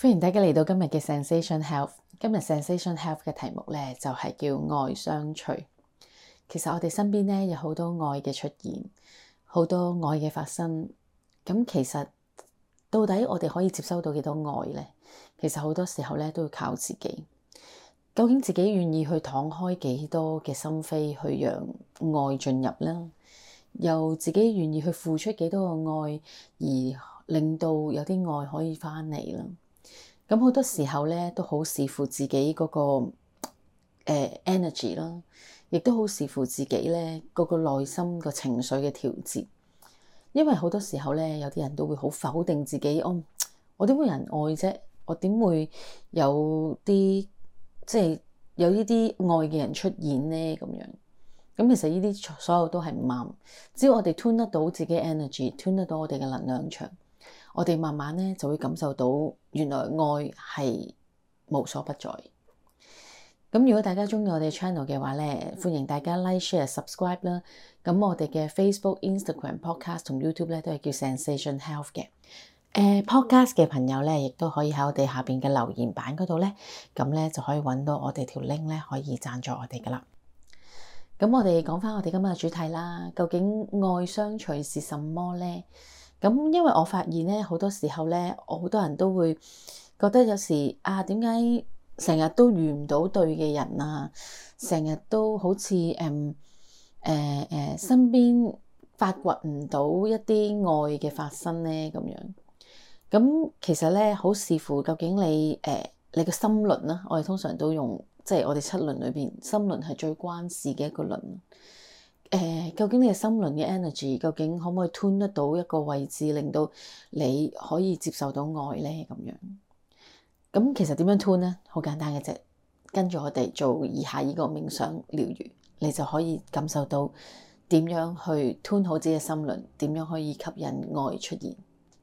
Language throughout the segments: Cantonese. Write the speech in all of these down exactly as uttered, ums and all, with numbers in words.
歡迎大家嚟到今日嘅 Zensation Health。今日 Zensation Health 嘅題目呢，就係叫愛相隨。其實我哋身邊呢，有好多愛嘅出現，好多愛嘅發生。咁其實到底我哋可以接收到幾多愛呢？其實好多時候呢，都要靠自己。究竟自己願意去敞開幾多嘅心扉去讓愛進入呢？又自己願意去付出幾多個愛，而令到有啲愛可以返嚟啦。咁好多時候咧，都好視乎自己嗰、那個誒、呃、energy 啦，亦都好視乎自己咧嗰個內心個情緒嘅調節。因為好多時候咧，有啲人都會好否定自己，哦、我點會有人愛啫？我點會有啲即係有呢啲愛嘅人出現咧？咁樣咁其實呢啲所有都係唔啱。只要我哋 tune 得到自己 energy，tune 得到我哋嘅能量場，我哋慢慢咧就會感受到原來愛係無所不在。咁如果大家中意我哋 channel 嘅話咧，歡迎大家 like、share、subscribe 啦。咁我哋嘅 Facebook、Instagram、Podcast 同 YouTube 咧都係叫 Zensation Health 嘅。誒、呃、Podcast 嘅朋友咧，亦都可以喺我哋下邊嘅留言板嗰度咧，咁咧就可以揾到我哋條 link 咧，可以贊助我哋噶啦。咁我哋講翻我哋今日嘅主題啦，究竟愛相隨是什麼咧？咁因為我發現咧，好多時候咧，我好多人都會覺得有時啊，點解成日都遇唔到對嘅人啊？成日都好似誒誒誒身邊發掘唔到一啲愛嘅發生咧咁樣。咁其實咧，好視乎究竟你誒、呃、你個心輪啦，我哋通常都用即係我哋七輪裏邊，心輪係最關事嘅一個輪。誒、呃，究竟你嘅心輪嘅 energy，究竟可唔可以 tune 得到一個位置，令到你可以接受到愛咧？咁樣，咁其實點樣 tune 咧？好簡單嘅啫，跟住我哋做以下呢個冥想療癒，你就可以感受到點樣去 tune 好自己嘅心輪，點樣可以吸引愛出現。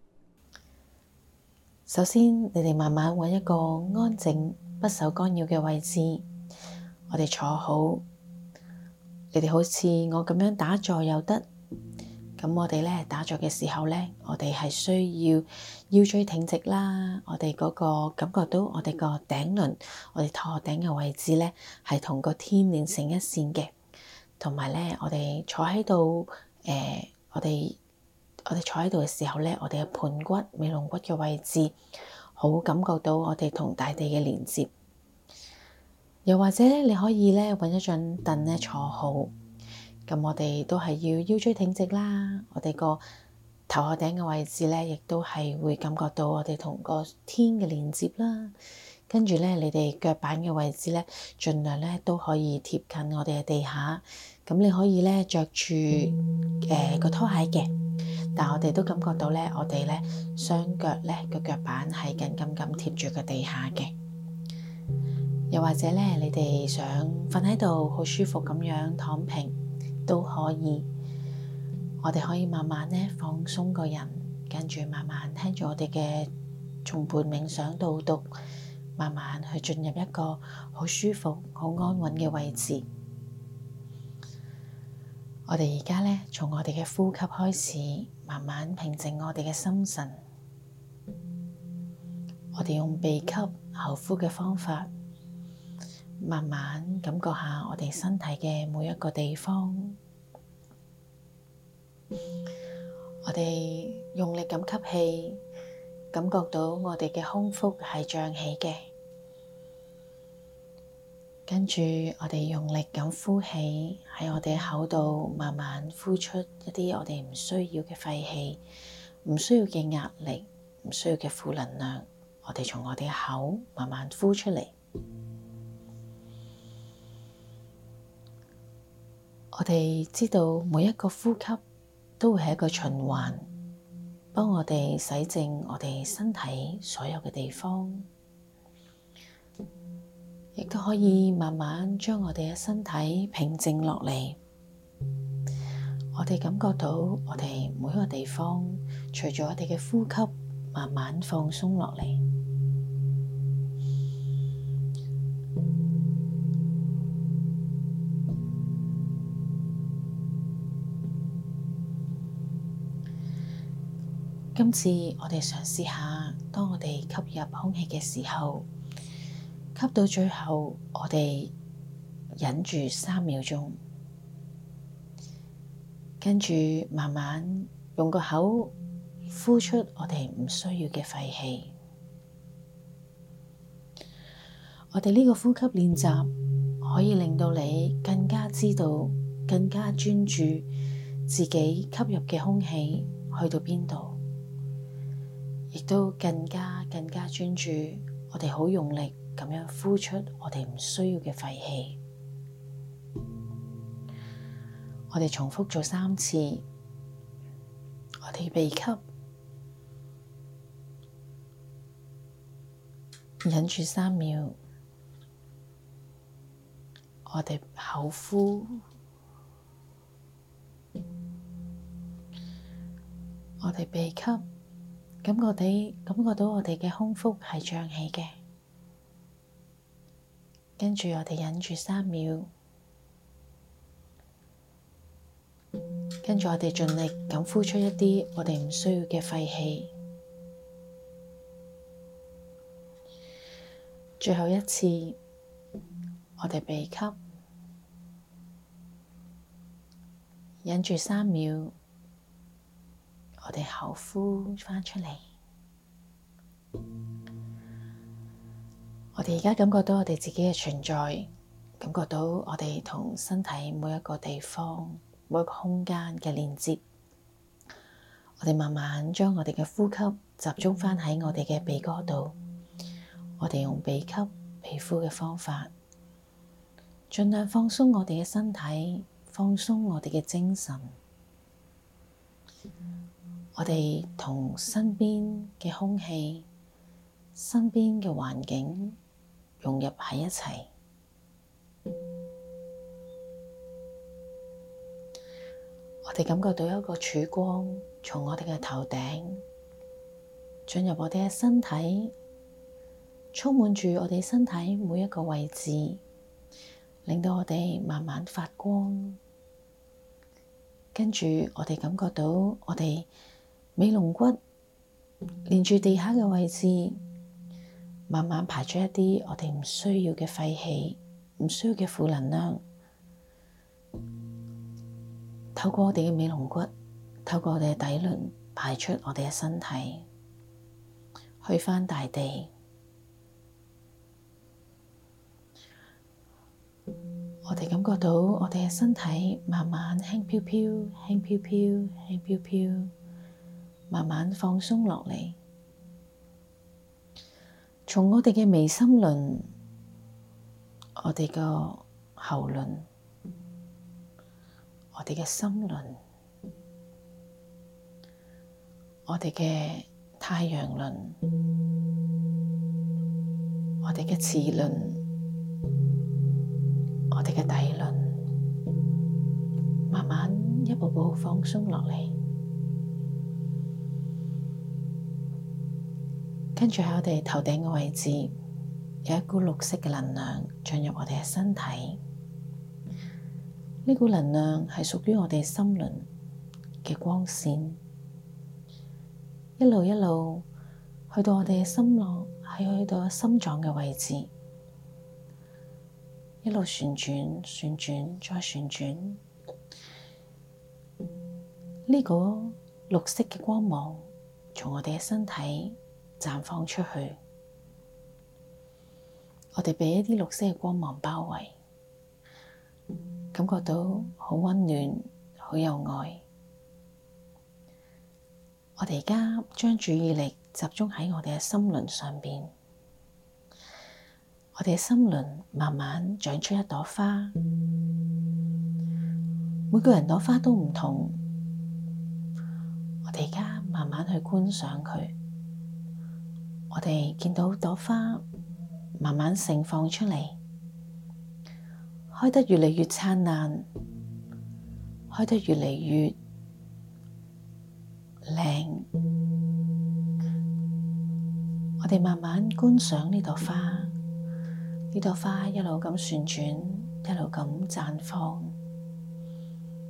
首先，你哋慢慢揾一個安靜、不受干擾嘅位置，我哋坐好。你哋好似我咁樣打坐又得，咁我哋咧打坐嘅時候咧，我哋係需要腰椎挺直啦，我哋嗰個感覺到我哋個頂輪，我哋頭頂嘅位置咧係同個天連成一線嘅，同埋咧我哋坐喺度，誒、呃，我哋我哋坐喺度嘅時候咧，我哋嘅盤骨、尾龍骨嘅位置，好感覺到我哋同大地嘅連接。又或者你可以咧揾一張凳咧坐好，咁我哋都係要腰椎挺直啦。我哋個頭殼頂嘅位置咧，亦都係會感覺到我哋同個天嘅連接啦。跟住咧，你哋腳板嘅位置咧，盡量咧都可以貼近我哋嘅地下。咁你可以咧着住誒個拖鞋嘅，但係我哋都感覺到咧，我哋咧雙腳咧個腳板係緊緊咁貼住個地下嘅。又或者咧，你哋想瞓喺度好舒服咁樣躺平都可以。我哋可以慢慢咧放鬆個人，跟住慢慢聽住我哋嘅頌缽冥想導讀，慢慢去進入一個好舒服、好安穩嘅位置。我哋而家咧從我哋嘅呼吸開始，慢慢平靜我哋嘅心神。我哋用鼻吸口呼嘅方法，慢慢感覺下我哋身體嘅每一個地方，我哋用力咁吸氣，感覺到我哋嘅胸腹係脹起嘅，跟住我哋用力咁呼氣，喺我哋口度慢慢呼出一啲我哋唔需要嘅廢氣，唔需要嘅壓力，唔需要嘅負能量，我哋從我哋嘅口慢慢呼出嚟。我哋知道每一個呼吸都會係一個循環，幫我哋洗淨我哋身體所有嘅地方，亦都可以慢慢將我哋嘅身體平靜落嚟。我哋感覺到我哋每一個地方，隨住我哋嘅呼吸慢慢放鬆落嚟。今次我哋嘗試下，當我哋吸入空氣嘅時候，吸到最後，我哋忍住三秒鐘，跟住慢慢用個口呼出我哋唔需要嘅廢氣。我哋呢個呼吸練習可以令到你更加知道、更加專注自己吸入嘅空氣去到邊度，亦都更加更加專注我哋好用力咁樣呼出我哋唔需要嘅廢氣。我哋重複做三次，我哋鼻吸，忍住三秒，我哋口呼，我哋鼻吸，感覺地感覺到我哋嘅胸腹係脹起嘅，跟住我哋忍住三秒，跟住我哋盡力咁呼出一啲我哋唔需要嘅廢氣。最後一次，我哋鼻吸，忍住三秒，我哋口呼返出嚟。我哋而家感覺到我哋自己嘅存在，感覺到我哋同身體每一個地方、每一個空間嘅連接。我哋慢慢將我哋嘅呼吸集中返喺我哋嘅鼻哥度。我哋用鼻吸鼻呼嘅方法，盡量放鬆我哋嘅身體，放鬆我哋嘅精神。我哋同身邊嘅空氣、身邊嘅環境融入喺一齊。我哋感覺到一個曙光從我哋嘅頭頂進入我哋嘅身體，充滿住我哋身體每一個位置，令到我哋慢慢發光。跟住我哋感覺到我哋尾龍骨連住地下嘅位置，慢慢排出一啲我哋唔需要嘅廢氣，唔需要嘅負能量。透過我哋嘅尾龍骨，透過我哋嘅底輪排出我哋嘅身體，去返大地。我哋感覺到我哋嘅身體慢慢輕飄飄、輕飄飄、輕飄飄，慢慢放鬆落嚟。從我哋嘅眉心輪、我哋個喉輪、我哋嘅心輪、我哋嘅太陽輪、我哋嘅臍輪、我哋嘅底輪，慢慢一步步放鬆落嚟。跟住喺我哋頭頂嘅位置，有一股綠色嘅能量進入我哋嘅身體。呢股能量係屬於我哋心輪嘅光線，一路一路去到我哋嘅心臟，係去到心臟嘅位置，一路旋轉、旋轉再旋轉。呢個綠色嘅光芒從我哋嘅身體綻放出去，我哋被一啲綠色嘅光芒包圍，感覺到好溫暖、好有愛。我哋而家將注意力集中喺我哋嘅心輪上邊，我哋嘅心輪慢慢長出一朵花，每個人朵花都唔同，我哋而家慢慢去觀賞佢。我哋見到朵花慢慢盛放出嚟，開得越嚟越燦爛，開得越嚟越靚。我哋慢慢觀賞呢朵花，呢朵花一路咁旋轉，一路咁綻放。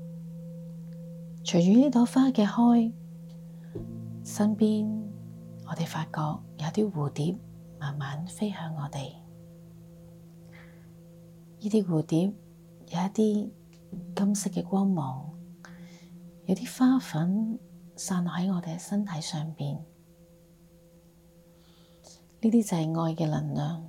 隨住呢朵花嘅開，身邊我我哋發覺有啲蝴蝶慢慢飛向我哋。呢啲蝴蝶有一啲金色嘅光芒，有啲花粉散落喺我哋嘅身體上邊。呢啲就係愛嘅能量。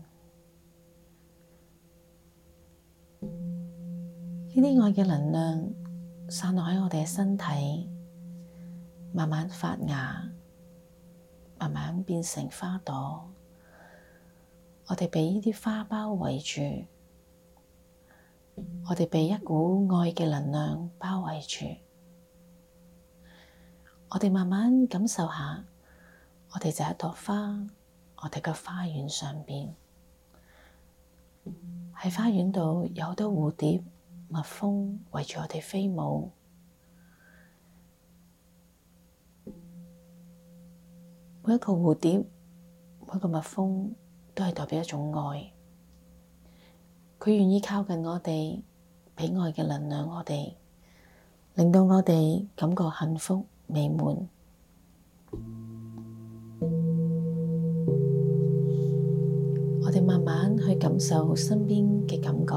呢啲愛嘅能量散落喺我哋嘅身體，慢慢發芽，慢慢變成花朵。我哋被呢啲花包圍住，我哋被一股愛嘅能量包圍住。我哋慢慢感受下，我哋就係一朵花，我哋嘅花園上邊，喺花園度有好多蝴蝶、蜜蜂圍住我哋飛舞。每一個蝴蝶、每一個蜜蜂都係代表一種愛，佢願意靠近我哋，俾愛嘅能量我哋，令到我哋感覺幸福美滿。我哋慢慢去感受身邊嘅感覺。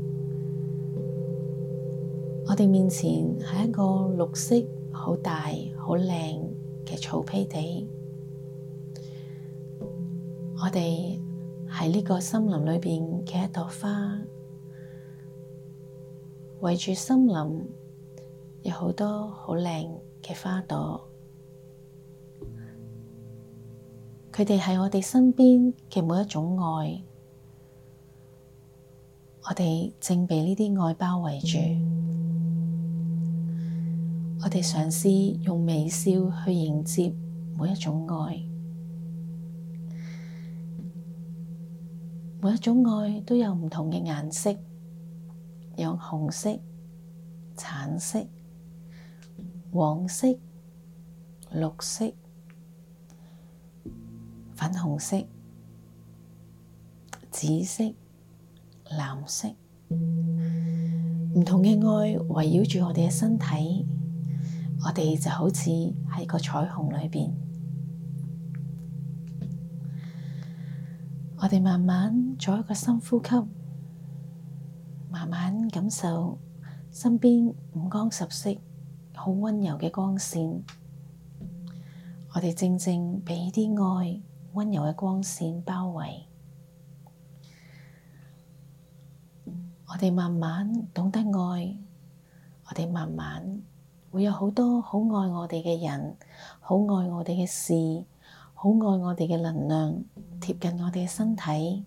我哋面前係一個綠色、好大、好靚嘅草坯地。我哋喺呢個森林裏邊嘅一朵花，圍住森林有好多好靚嘅花朵。佢哋係我哋身邊嘅每一種愛，我哋正被呢啲愛包圍住。我哋嘗試用微笑去迎接每一種愛，每一種愛都有唔同嘅顏色，有紅色、橙色、黃色、綠色、粉紅色、紫色、藍色，唔同嘅愛圍繞住我哋嘅身體，我哋就好似喺個彩虹裏邊。我哋慢慢做一個深呼吸，慢慢感受身邊五光十色、好溫柔嘅光線。我哋正正被呢啲愛溫柔嘅光線包圍。我哋慢慢懂得愛，我哋慢慢會有好多好愛我哋嘅人，好愛我哋嘅事，好愛我哋嘅能量貼近我哋嘅身體。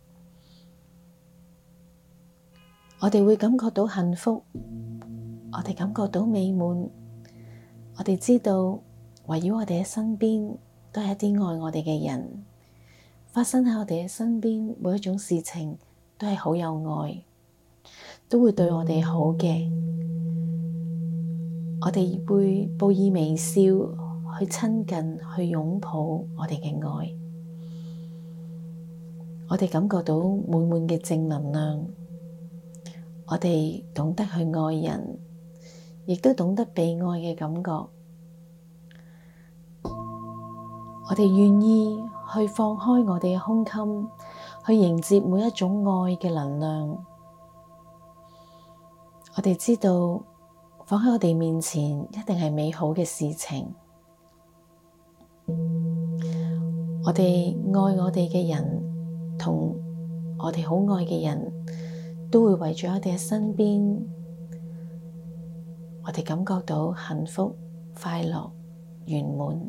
我哋會感覺到幸福，我哋感覺到美滿。我哋知道圍繞我哋嘅身邊都係一啲愛我哋嘅人，發生喺我哋嘅身邊每一種事情都係好有愛，都會對我哋好嘅。我哋會報以微笑去親近，去擁抱我哋嘅愛。我哋感覺到滿滿嘅正能量。我哋懂得去愛人，亦都懂得被愛嘅感覺。我哋願意去放開我哋嘅胸襟，去迎接每一種愛嘅能量。我哋知道放喺我哋面前一定係美好嘅事情。我哋愛我哋嘅人，同我哋好愛嘅人都會圍住我哋嘅身邊。我哋感覺到幸福、快樂、圓滿。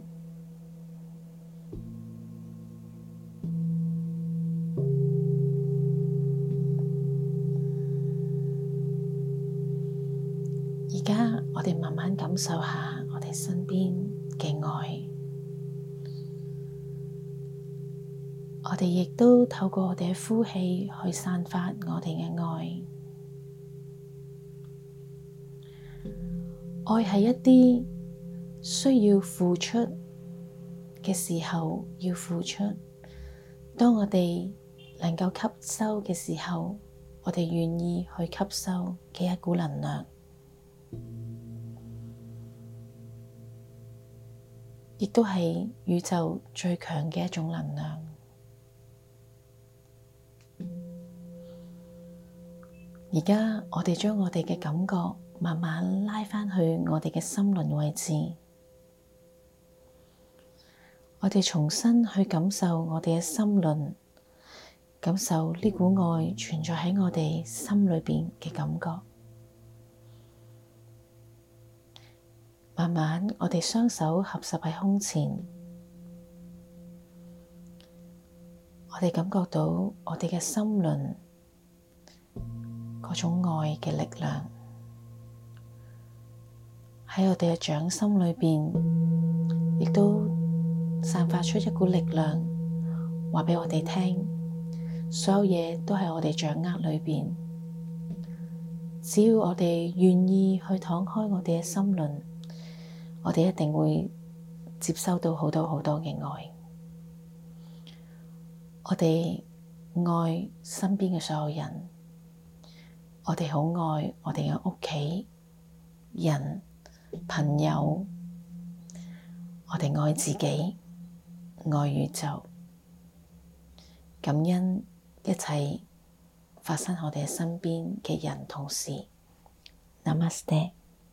而家我哋慢慢感受下我哋身邊嘅愛，我哋亦都透過我哋嘅呼氣去散發我哋嘅愛。愛係一啲需要付出嘅時候要付出，當我哋能夠吸收嘅時候，我哋願意去吸收嘅一股能量。 亦都係宇宙最強嘅一種能量。而家我哋將我哋嘅感覺慢慢拉返去我哋嘅心輪位置，我哋重新去感受我哋嘅心輪，感受呢股愛存在喺我哋心裏邊嘅感覺。慢慢，我哋雙手合十喺胸前，我哋感覺到我哋嘅心輪嗰種愛嘅力量喺我哋嘅掌心裏邊，亦都散發出一股力量，話畀我哋聽，所有嘢都喺我哋掌握裏邊。只要我哋願意去敞開我哋嘅心輪，我哋一定會接收到好多好多嘅愛。我哋愛身邊嘅所有人，我哋好愛我哋嘅屋企人、朋友，我哋愛自己，愛宇宙，感恩一切發生喺我哋身邊嘅人同事。Namaste。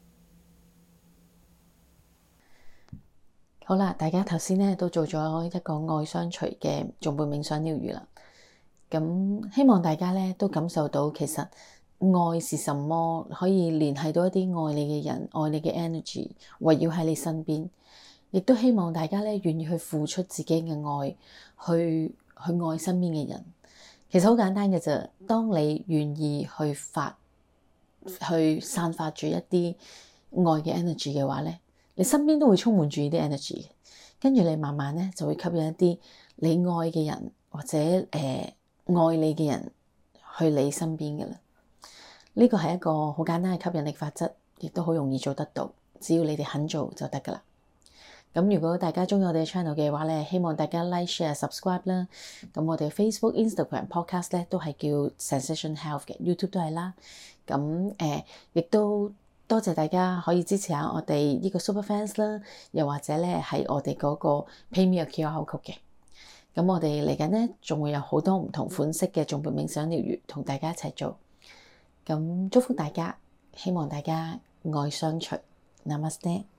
好啦，大家頭先咧都做咗一個愛相隨嘅頌缽冥想療癒啦。咁希望大家咧都感受到，其實愛是什麼，可以聯繫到一啲愛你嘅人，愛你嘅 energy 圍繞喺你身邊。亦都希望大家咧願意去付出自己嘅愛，去去愛身邊嘅人。其實好簡單嘅啫，當你願意去發去散發住一啲愛嘅 energy 嘅話咧，你身邊都會充滿住呢啲 energy，跟住你慢慢咧就會吸引一啲你愛嘅人或者誒、呃、愛你嘅人去你身邊嘅啦。呢個係一個好簡單嘅吸引力法則，亦都好容易做得到，只要你哋肯做就得噶啦。咁如果大家鍾意我哋嘅 channel 嘅話咧，希望大家 like、share、subscribe 啦。咁我哋 Facebook、Instagram、Podcast 咧都係叫 Zensation Health 嘅 ，YouTube 都係啦。咁誒，亦、呃、都多謝大家可以支持下我哋呢個 Super Fans 啦，又或者咧係我哋嗰個 PayMe 嘅 Q R code 嘅。咁我哋嚟緊咧仲會有好多唔同款式嘅頌缽冥想療癒同大家一齊做。咁祝福大家，希望大家愛相隨。Namaste。